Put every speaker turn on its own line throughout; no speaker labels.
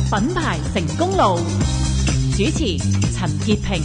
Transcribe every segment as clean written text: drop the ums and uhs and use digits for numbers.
品牌成功路，主持陳潔平。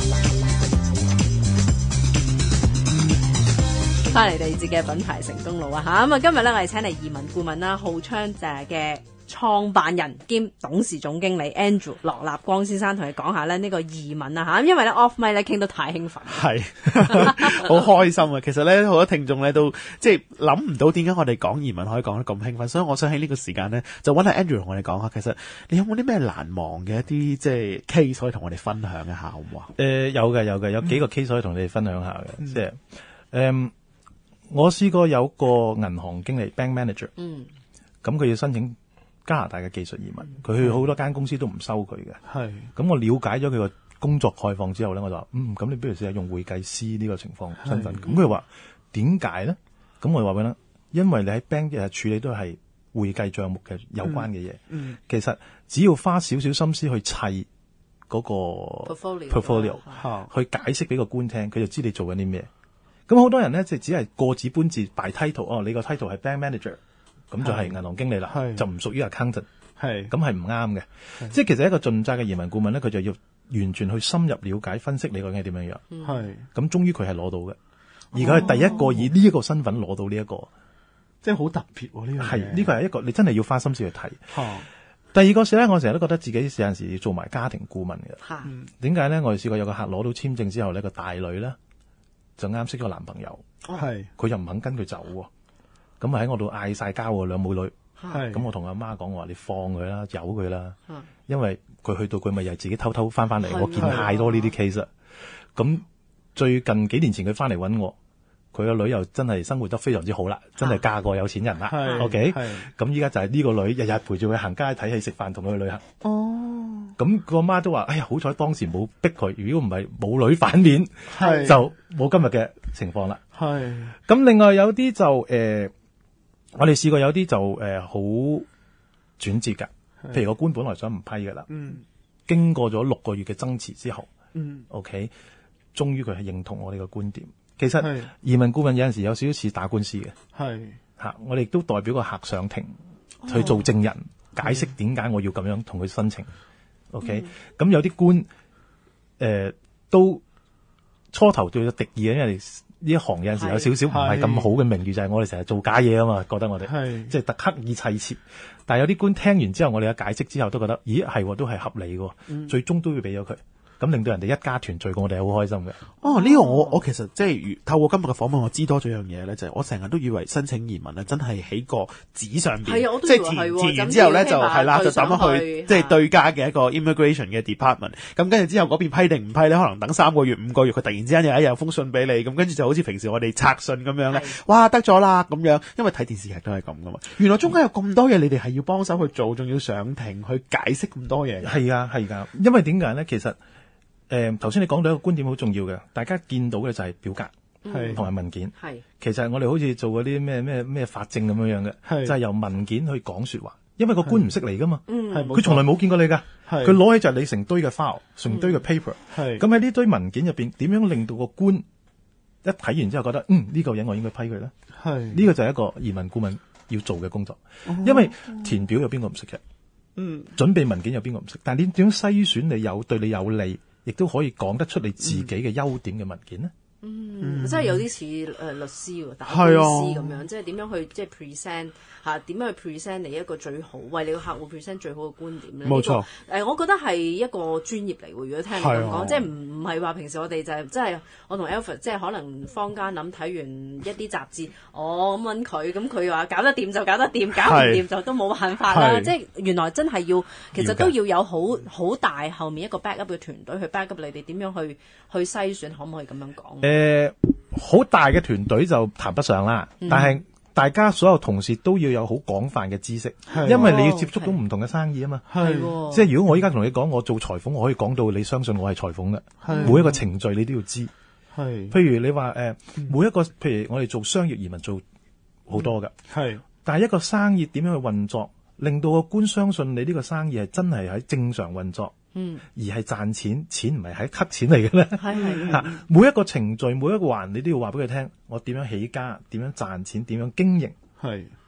翻嚟第二節嘅品牌成功路啊吓，咁啊今日咧我哋請嚟移民顧問啦，浩昌嘅創辦人兼董事總經理 Andrew 羅立光先生，同你講下咧呢個移民啊吓，因為咧 off mic 咧傾得太興奮，
係好開心啊！其實咧好多聽眾咧都即係諗唔到點解我哋講移民可以講得咁興奮，所以我想喺呢個時間咧就揾下 Andrew 同我哋講下，其實你有冇啲咩難忘嘅一啲即係 case 可以同我哋分享一下好唔好啊？
有嘅，有幾個 case 可以同你哋分享下嘅，即係我試過有個銀行經理 bank manager，咁佢要申請加拿大嘅技術移民，佢去好多間公司都唔收佢嘅。係，咁我了解咗佢個工作概況之後咧，我就話咁你不如試下用會計師呢個情況身份。咁佢話點解咧？咁我話俾佢聽，因為你喺 bank 嘅處理都係會計帳目嘅有關嘅嘢，其實只要花少少心思去砌嗰個 portfolio 去解釋俾個官聽，佢就知你做緊啲咩。咁好多人咧，就只係過紙搬字擺 title， 你個 title 係 bank manager， 咁就係銀行經理啦，就唔屬於 accountant， 咁係唔啱嘅。即係其實一個盡責嘅移民顧問咧，佢就要完全去深入了解分析你究竟係點樣樣。咁終於佢係攞到嘅，而佢係第一個以呢一個身份攞到呢一個，
即係好特別喎呢樣嘢。
係呢個係一個你真係要花心思去睇。第二個事咧，我成日都覺得自己有陣時要做埋家庭顧問嘅。點解咧？我哋試過有個客攞到簽證之後呢，個大女咧就啱識咗個男朋友，佢又唔肯跟佢走喎，咁喺我度嗌晒交喎，兩母女，咁我同阿媽講，我話你放佢啦，由佢啦，因為佢去到佢咪又係自己偷偷翻嚟，我見太多呢啲 case 啦。咁最近幾年前佢翻嚟揾我，佢個女又真係生活得非常之好啦，真係嫁個有錢人啦。OK，咁依家就係呢個女日日陪住佢行街睇戲食飯，同佢去旅行。咁個媽都話：哎呀，好彩當時冇逼佢，如果唔係母女反面，就冇今日嘅情況啦。咁另外有啲就我哋試過有啲就好轉折㗎。譬如個官本來想唔批㗎啦，經過咗6個月嘅爭持之後，OK， 終於佢係認同我哋嘅觀點。其實移民顧問有陣時有少少似打官司嘅，我哋都代表個客上庭去做證人，解釋點解我要咁樣同佢申請。OK， 咁有啲官都初頭對咗敵意嘅，因為呢一行有陣時有少少唔係咁好嘅名譽，就係我哋成日做假嘢啊嘛，覺得我哋即係特刻意砌設。但係有啲官聽完之後，我哋嘅解釋之後都覺得，咦係都係合理嘅，最終都要俾咗佢。咁令到人哋一家團聚，我哋係好開心嘅。
呢個我其實即係透過今日嘅訪問，我知多咗樣嘢咧，就係我成日都以為申請移民咧，真係喺個紙上邊，即係填完之後咧就係啦，就抌咗去即係對家嘅一個 immigration 嘅 department。咁跟住之後嗰邊批定唔批咧，可能等3個月、5個月，佢突然之間有一日封信俾你，咁跟住就好似平時我哋拆信咁樣咧，哇得咗啦咁樣，因為睇電視劇都係咁噶嘛。原來中間有咁多嘢，你哋係要幫手去做，仲要上庭去解釋咁多嘢。
係㗎，因為點解咧？其實頭先你講到一個觀點好重要嘅，大家見到嘅就係表格同埋文件。其實我哋好似做嗰啲咩法證咁樣嘅，就係由文件去講說話。因為個官唔識嚟噶嘛，佢從來冇見過你噶，佢攞起就係你成堆嘅 file，成堆嘅 paper。咁喺呢堆文件入邊，點樣令到個官一睇完之後覺得呢個人我應該批佢咧？呢個就係一個移民顧問要做嘅工作。因為填表有邊個唔識嘅？準備文件有邊個唔識？但係你點樣篩選你對你有利，亦都可以講得出你自己嘅優點嘅文件呢？
真係有啲似律師喎，打官司咁樣，即係點樣去即係 present 點樣去 present 你一個最好為你個客戶 present 最好嘅觀點咧？
冇錯，
我覺得係一個專業嚟喎。如果聽你咁講，即係唔係話平時我哋就係即係我同 Alfred 即係可能坊間睇完一啲雜誌，咁揾佢，咁佢話搞得掂就搞得掂，搞唔掂就都冇辦法啦。即係原來真係其實都要有好大後面一個 back up 嘅團隊去 back up 你哋點樣去篩選，可唔可以咁樣講？
好大嘅團隊就談不上啦，但係大家所有同事都要有好廣泛嘅知識，因為你要接觸到唔同嘅生意啊嘛。即係如果我依家同你講我做裁縫，我可以講到你相信我係裁縫嘅，每一個程序你都要知。譬如你話每一個譬如我哋做商業移民做好多㗎，但係一個生意點樣去運作，令到個官相信你呢個生意係真係喺正常運作。而係賺錢，錢唔係喺吸錢嚟嘅咧。每一個程序，每一個環，你都要話俾佢聽，我點樣起家，點樣賺錢，點樣經營。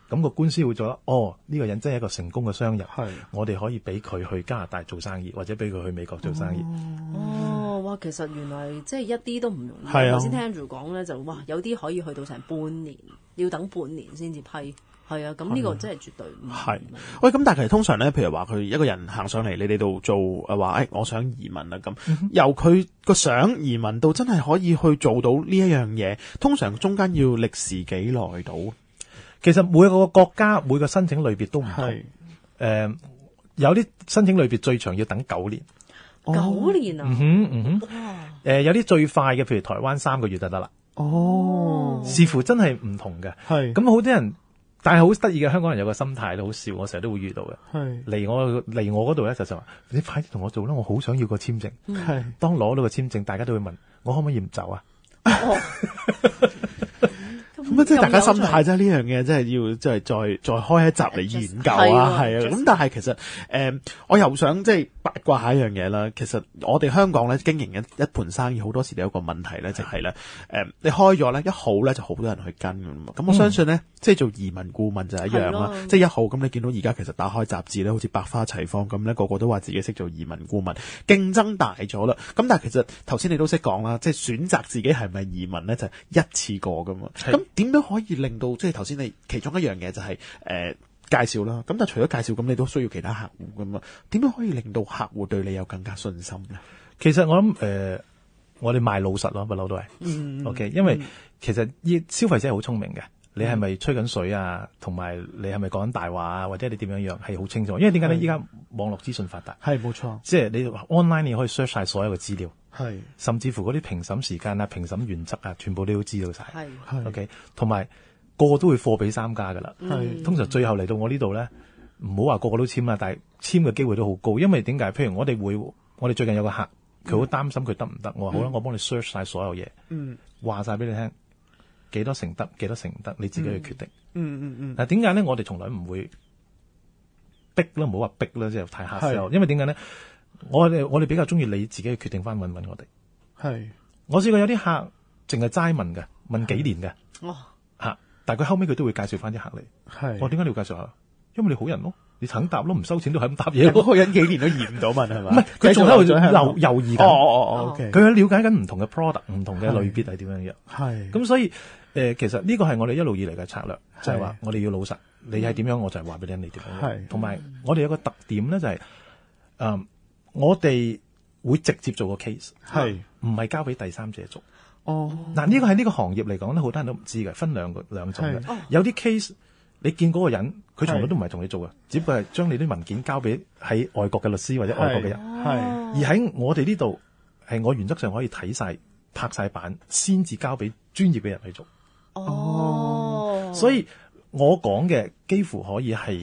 咁個官司會做得，呢個人真係一個成功嘅商人，
係
我哋可以俾佢去加拿大做生意，或者俾佢去美國做生意。
哇！其實原來即係一啲都唔容易。
係啊，
頭先聽 Andrew 講咧，就哇有啲可以去到成半年，要等半年先至批。係啊，咁呢個真係絕對唔係。
喂，咁但係其實通常咧，譬如話佢一個人行上嚟你哋度做話，我想移民啦咁，由佢個想移民到真係可以去做到呢一樣嘢，通常中間要歷時幾耐到？
其實每個國家每個申請類別都唔同。有啲申請類別最長要等9年。
9年啊！
有啲最快嘅，譬如台灣3個月就得啦。視乎真係唔同嘅。係咁好多人。但係好得意嘅，香港人有個心態都好笑，我成日都會遇到嘅。係嚟我嗰度咧就話你快啲同我做啦，我好想要個簽證。係當攞到個簽證，大家都會問我可唔可以唔走啊？咁即係大家心態啫，呢樣嘢真係要即係再開一集嚟研究啊，係啊。咁但係其實我又想即係八卦下一樣嘢啦。其實我哋香港咧經營一盤生意，好多時都有一個問題咧，就係咧你開咗咧一號咧就好多人去跟㗎嘛。咁我相信咧，即係做移民顧問就係一樣啦。即係一號咁，你見到而家其實打開雜誌咧，好似百花齊放咁咧，個個都話自己識做移民顧問，競爭大咗啦。咁但係其實頭先你都識講啦，即係選擇自己係咪移民咧，就係一次過㗎嘛。咁點樣可以令到即係頭先你其中一樣嘢就係介紹啦，咁但係除咗介紹，咁你都需要其他客戶噶嘛？點樣可以令到客戶對你有更加信心咧？ 其實我諗我哋賣老實咯，不嬲都係，OK， 因為其實消費者係好聰明嘅，你係咪吹緊水啊？同埋你係咪講緊大話啊？或者你點樣係好清楚？因為點解咧？依家網絡資訊發達，係冇錯，即係你 online 你可以 search 晒所有嘅資料，係甚至乎嗰啲評審時間啊、評審原則啊，全部你都知道晒，係 OK， 同埋。個個都會貨比三家噶啦，通常最後嚟到我呢度咧，唔好話個個都簽啦，但係簽嘅機會都好高，因為點解？譬如我哋最近有個客，佢好擔心佢得唔得，我話好啦，我幫你 search 晒所有嘢，話晒俾你聽，幾多成得，幾多成唔得，你自己去決定。嗱，點解咧？我哋從來唔會逼啦，唔好話逼啦，即係太 hard sell。因為點解咧？我哋比較中意你自己去決定翻揾我哋。係，我試過有啲客淨係齋問嘅，問幾年嘅。但係佢後尾佢都會介紹翻啲客嚟，係我點解你要介紹下？因為你好人咯，你肯答咯，唔收錢都係咁答嘢。嗰個人幾年都移唔到問係嘛？唔係，佢仲喺度猶豫緊。OK，佢喺了解緊唔同嘅 product， 唔同嘅類別係點樣樣。係咁，所以其實呢個係我哋一路以嚟嘅策略，就係話我哋要老實，你係點樣，我就係話俾你聽你點樣。係，同埋我哋有個特點咧，就係我哋會直接做個 case， 係唔係交俾第三者做。嗱，呢個喺呢個行業嚟講咧，好多人都唔知嘅，分兩種嘅。有啲 case 你見嗰個人，佢從來都唔係同你做嘅，只不過係將你啲文件交俾喺外國嘅律師或者外國嘅人。而喺我哋呢度，係我原則上可以睇晒、拍晒板，先至交俾專業嘅人去做。所以我講嘅幾乎可以係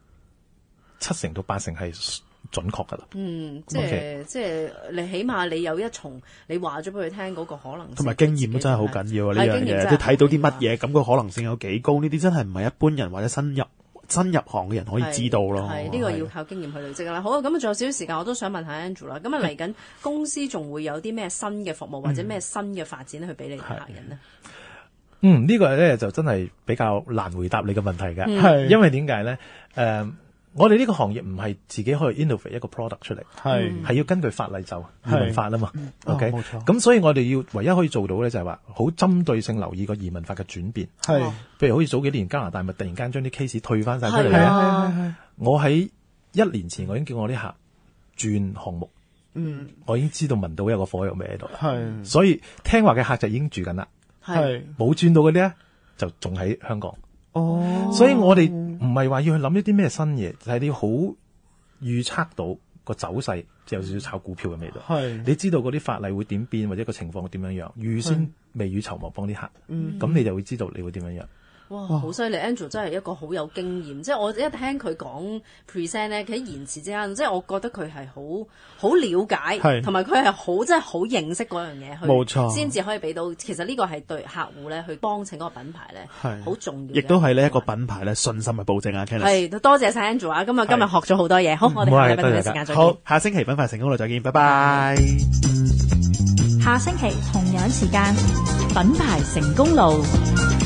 70%到80%係準確噶啦，即
係你起碼你有一重，你話咗俾佢聽嗰個可能性，
同埋經驗都真係好緊要啊！呢樣嘢，你睇到啲乜嘢，咁個可能性有幾高？呢啲真係唔係一般人或者新入行嘅人可以知道咯。係呢個要靠經驗去累積啦。好啊，咁啊仲有少少時間，我都想問下 Andrew 啦。咁啊嚟緊公司仲會有啲咩新嘅服務或者咩新嘅發展去俾你客人呢？
呢個咧就真係比較難回答你嘅問題嘅，係因為點解咧？我哋呢個行業唔係自己可以 innovate 一個 product 出嚟，係要根據法例就移民法啊嘛。OK，冇錯。咁所以我哋要唯一可以做到咧，就係話好針對性留意個移民法嘅轉變。係，譬如好似早幾年加拿大咪突然間將啲 case 退翻晒出嚟。係。我喺1年前我已經叫我啲客轉項目。我已經知道聞到有個火藥味喺度。係。所以聽話嘅客就已經住緊啦。係。冇轉到嗰啲咧，就仲喺香港。所以我哋唔係話要去諗一啲咩新嘢，就係你要好預測到個走勢，即係有少少炒股票嘅味道。係，你知道嗰啲法例會點變，或者個情況會點樣樣，預先未雨綢繆幫啲客，咁你就會知道你會點樣樣。
哇，好犀利 ！Andrew 真係一個好有經驗，即係我一聽佢講 present 咧，佢喺言辭之間，即係我覺得佢係好了解，同埋佢係真係好認識嗰樣嘢，冇錯，先至可以俾到。其實呢個係對客戶咧去幫襯嗰個品牌咧，係好重要，亦都係呢一個品牌咧信心嘅保證啊。係，多謝晒 Andrew 啊！今日學咗好多嘢，好，我哋下禮拜同一時間再見。好，下星期品牌成功路再見，拜拜。
下星期同樣時間，品牌成功路。